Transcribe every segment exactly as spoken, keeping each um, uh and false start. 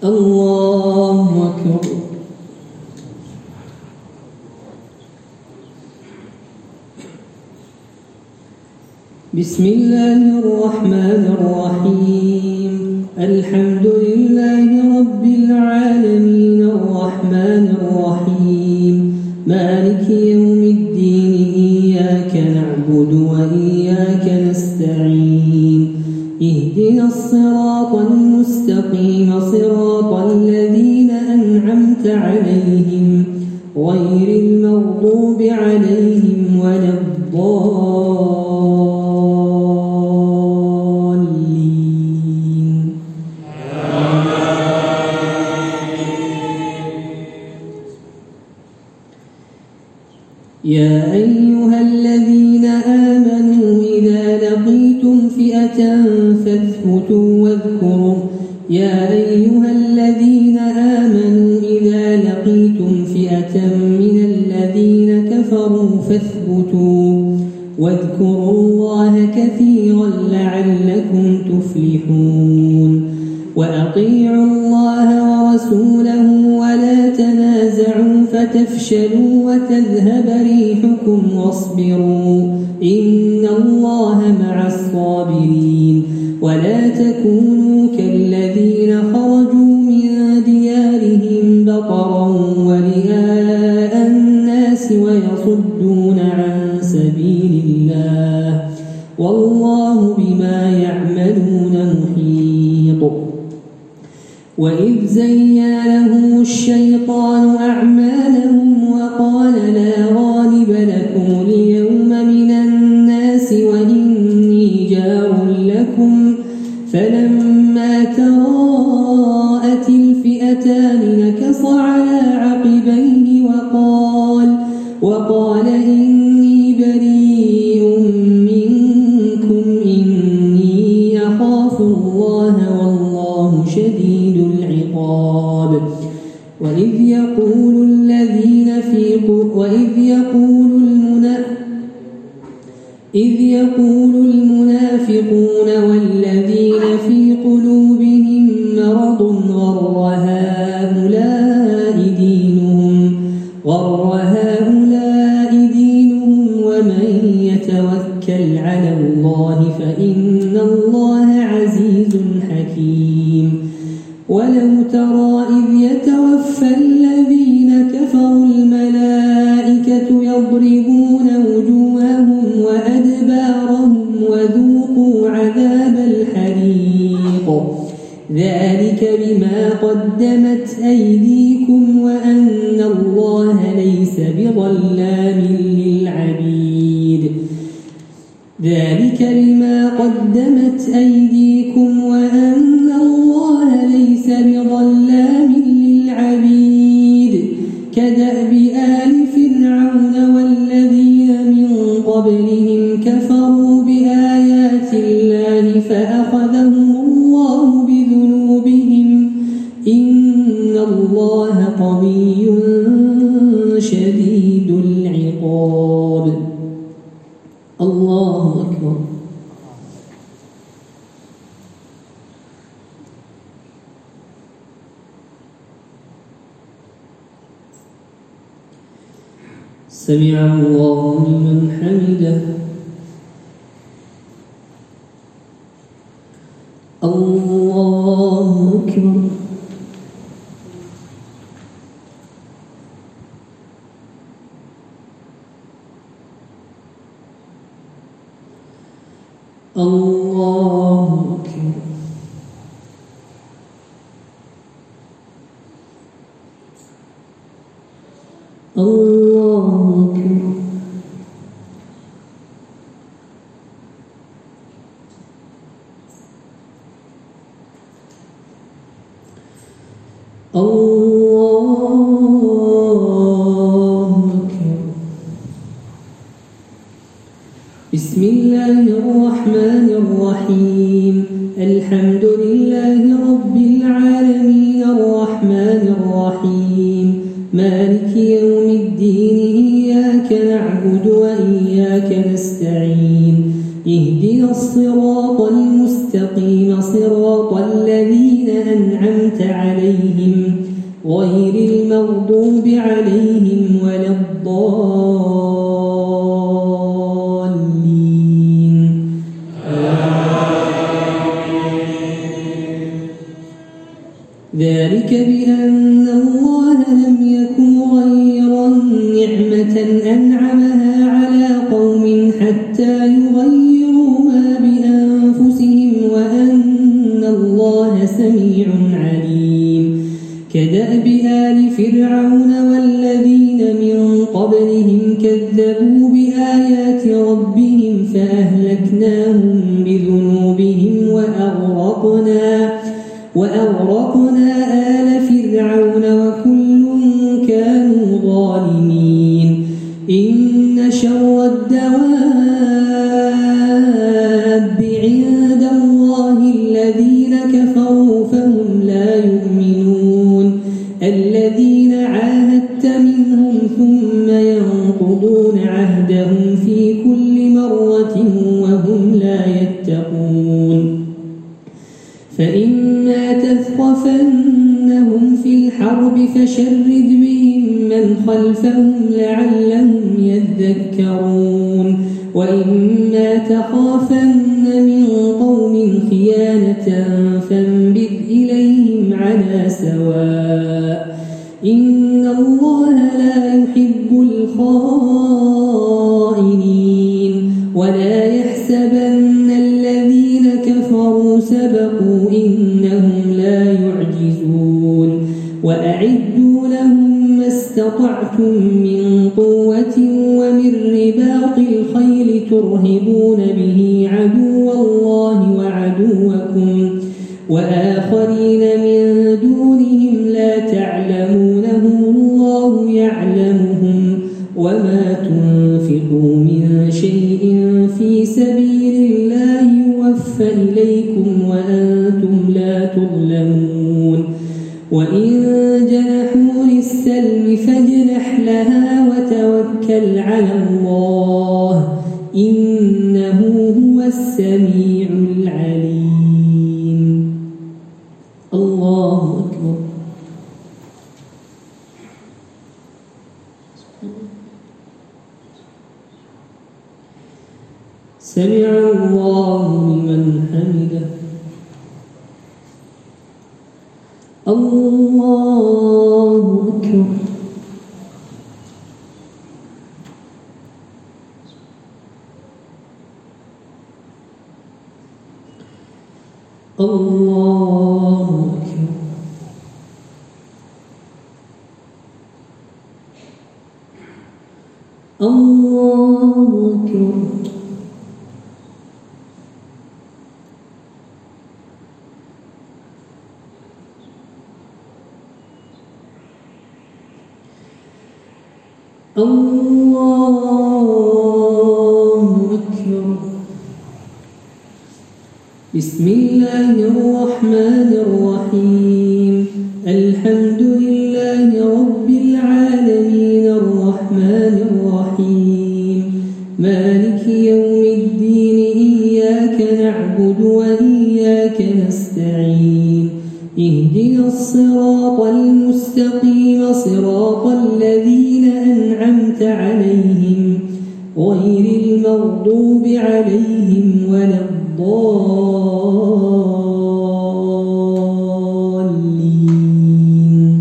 الله أكبر. بسم الله الرحمن الرحيم. الحمد لله رب العالمين الرحمن الرحيم مالك يوم الدين إياك نعبد وإياك نستعين اهدنا الصراط المستقيم صراط الذين أنعمت عليهم غير المغضوب عليهم ولا الضالين. يا أيها الذين آمنوا إذا لقيتم فئة فاثبتوا واذكروا يا أيها الذين آمنوا إذا لقيتم فئة من الذين كفروا فاثبتوا واذكروا الله كثيرا لعلكم تفلحون. وأطيعوا الله ورسوله ولا تنازعوا فتفشلوا وتذهب ريحكم واصبروا إن الله مع الصابرين. ولا تكونوا كالذين خرجوا من ديارهم بطرا ورئاء الناس ويصدون عن سبيل الله والله بما يعملون محيط. وإذ زين لهم الشيطان أعمالهم وقال لا غالب لكم اليوم من الناس وإني جار لكم فلما تراءت الفئتان نكص على عقبيه وقال وقال إني بريء منكم إني أخاف الله والله شديد العقاب. وإذ يقول الذين في وإذ يقول المنا إذ يقول المنافقون والذين في قلوبهم مرض غر هؤلاء دينهم غر هؤلاء دينهم ومن يتوكل على الله فإن الله عزيز حكيم. ولو ترى إذ يتوفى الذين كفروا الملائكة يضربون وجوههم وأدبارهم وذوقوا عذاب الحريق ذلك بما قدمت أيديكم وأن الله ليس بظلام للعبيد ذلك بما قدمت أيديكم وأن الله ليس بظلام للعبيد كدأب آل فرعون والذين من قبلهم كفروا بآيات الله فأخذهم الله بذنوبهم إن الله قوي شديد العقاب. الله أكبر. سمع الله لمن حمده. الله أكبر. الله أكبر. الله أكبر. الله أكبر. بسم الله الرحمن الرحيم. الحمد لله رب العالمين الرحمن الرحيم مالك يوم الدين إياك نعبد وإياك نستعين اهدنا الصراط المستقيم المستقيم صراط الذين أنعمت عليهم غير المغضوب عليهم ولا الضالين. ذلك بأن الله لم يكن غير نعمة أنعمها على قوم حتى يغيروا ما بأنفسهم وأن الله سميع عليم. كدأب آل فرعون والذين من قبلهم كذبوا بآيات ربهم فأهلكناهم بذنوبهم وأغرقنا وأغرقنا آل فرعون وكل كانوا ظالمين. إن شر الدواب عند الله الذين كفروا فهم لا يؤمنون الذين عاهدت منهم ثم ينقضون عهدهم في كل مرة وهم لا يتقون. فإما تثقفنهم في الحرب فشرد بهم من خلفهم لعلهم يذكرون. وإما تخافن من قوم خيانة فانبذ إليهم على سواء إن الله لا يحب الخائنين. ولا يحسبن الذين كفروا سبقوا إنهم لا يعجزون. وأعدوا لهم ما استطعتم من قوة ومن رباط الخيل ترهبون به عدو الله وعدوكم وآخرين من دونهم لا تعلمونهم الله يعلمهم. وما تنفقوا من شيء في سبيل الله يوفى إليكم وأنتم لا تظلمون. وإن جنحوا للسلم فاجنح لها وتوكل على الله إنه هو السميع العليم. الله أكبر. سمع الله لمن حمده. الله أكبر. الله أكبر. الله أكبر. الله أكبر. بسم الله الرحمن الرحيم. الحمد لله رب العالمين الرحمن الرحيم مالك يوم الدين. إياك نعبد وإياك نستعين. اهدنا الصراط المستقيم صراط الذين أنعمت عليهم غير المغضوب عليهم ولا الضالين.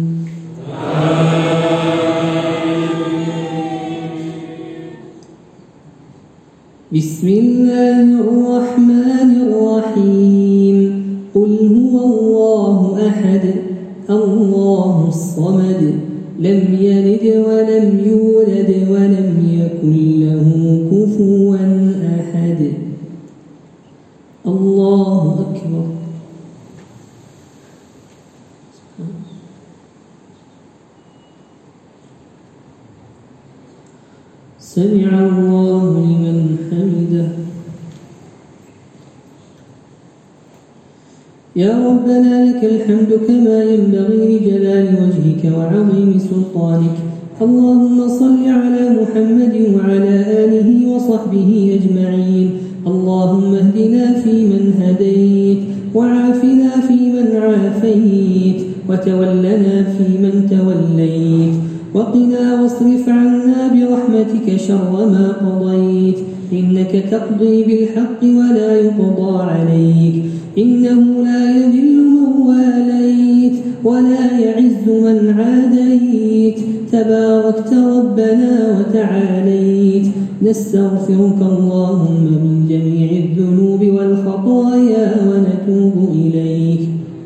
بسم الله الرحمن الرحيم. قل هو الله أحد الله الصمد لم يلد ولم يولد ولم يكن له كفوا أحد. الله أكبر. سمع الله لمن حمده. يا ربنا لك الحمد كما ينبغي لجلال وجهك وعظيم سلطانك. اللهم صل على محمد وعلى آله وصحبه أجمعين. اللهم اهدنا فيمن هديت وعافنا فيمن عافيت وتولنا فيمن توليت وقنا واصرف عنا برحمتك شر ما قضيت إنك تقضي بالحق ولا يقضى عليك إنه لا يذل من واليت ولا يعز من عاديت تباركت ربنا وتعاليت نستغفرك اللهم من جميع الذنوب والخطايا ونتوب إليك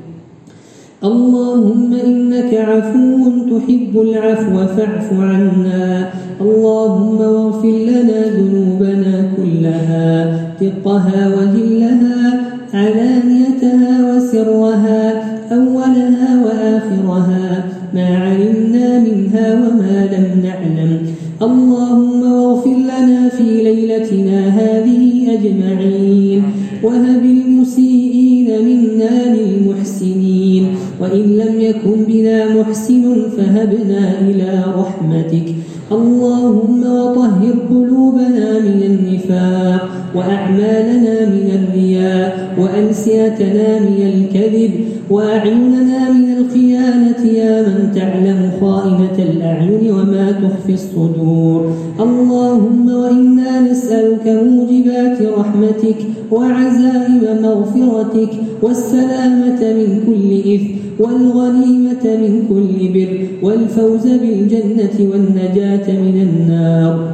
اللهم إنك عفو تحب العفو فاعف عنا اللهم واغفر لنا ذنوبنا كلها دقها وجلها علانيتها وسرها أولها وآخرها ما علمنا منها وما لم نعلم اللهم واغفر لنا في ليلتنا هذه أجمعين وهب المسيئين منا للمحسنين وإن لم يكن بنا محسن فهبنا إلى رحمتك اللهم وطهر قلوبنا من النفاق وأعمالنا من الرياء وألسنتنا من الكذب وأعيننا من الخيانة يا من تعلم خائنة الأعين وما تخفي الصدور اللهم وإنا نسألك موجبات رحمتك وعزائم مغفرتك والسلامة من كل إثم والغنيمة من كل بر والفوز بالجنة والنجاة من النار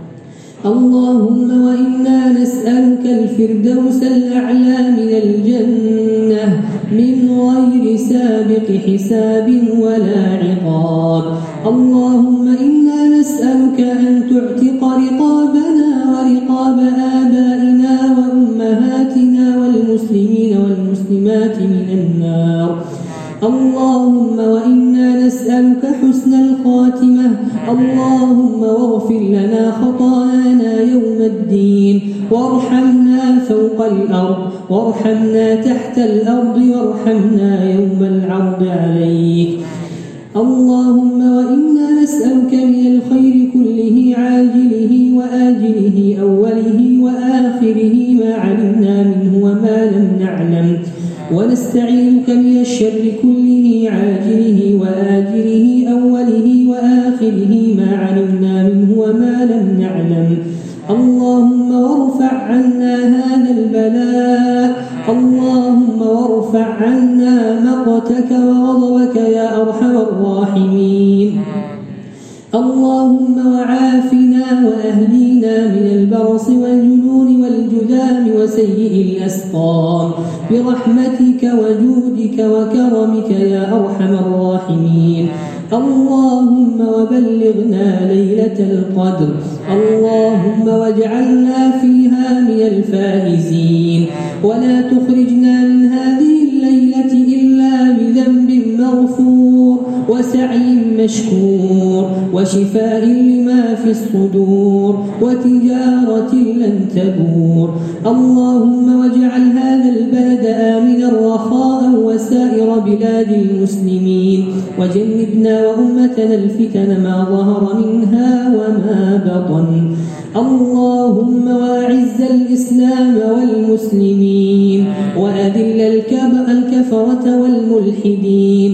اللهم وإنا نسألك الفردوس الأعلى من الجنة من غير سابق حساب ولا عقاب اللهم إنا نسألك أن تعتق رقابنا ورقاب آبائنا وأمهاتنا والمسلمين والمسلمات من النار اللهم وإنا نسألك حسن الخاتمة اللهم واغفر لنا خطايانا يوم الدين وارحمنا فوق الأرض وارحمنا تحت الأرض وارحمنا يوم العرض عليك اللهم وإنا نسألك من الخير كله عاجله وآجله أوله وآخره ما علمنا منه وما لم نعلم ونستعينك من الشر كله عاجله وآجله أوله وآخره ما علمنا منه وما لم نعلم اللهم وارفع عنا هذا البلاء اللهم وارفع عنا مقتك وغضبك يا أرحم الراحمين اللهم وعافنا وأهدينا من البرص والجنون والجذام وسيء الأسقام برحمتك وجودك وكرمك يا أرحم الراحمين اللهم وبلغنا ليلة القدر اللهم واجعلنا فيها من الفائزين ولا تخرجنا من هذه الليلة إلا بذنب مغفور وسعي مشكور وشفاء لما في الصدور وتجارة لن تبور اللهم واجعل هذا البلد آمنا رخاء وسائر بلاد المسلمين وجنبنا وأمتنا الفتن ما ظهر منها وما بطن اللهم وأعز الإسلام والمسلمين وأذل الكفرة والملحدين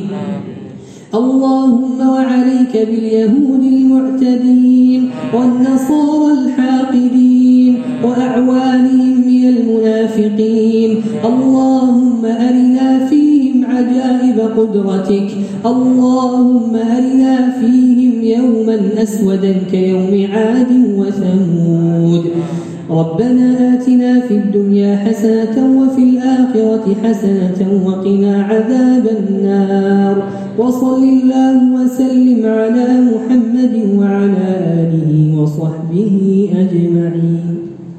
اللهم وعليك باليهود المعتدين والنصارى الحاقدين وأعوانهم من المنافقين اللهم أرنا فيهم عجائب قدرتك اللهم أرنا فيهم يوما أسودا كيوم عاد وثمود ربنا آتنا في الدنيا حسنة وفي الآخرة حسنة وقنا عذاب النار وصل اللهم وسلم على محمد وعلى آله وصحبه أجمعين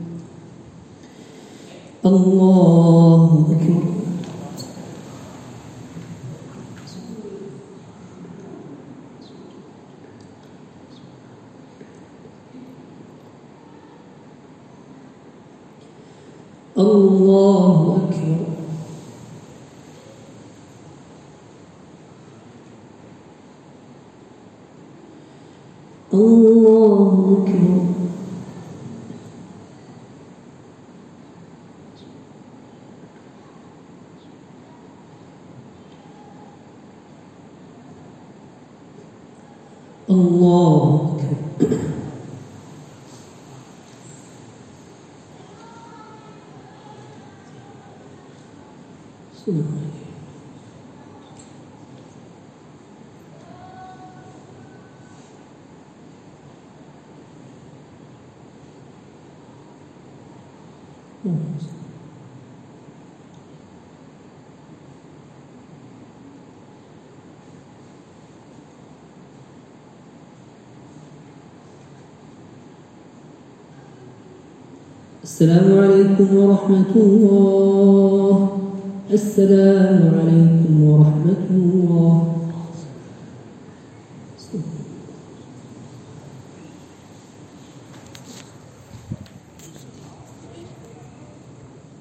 الله أكبر الله أكبر الله أكبر الله أكبر. السلام عليكم ورحمة الله. السلام عليكم ورحمة الله.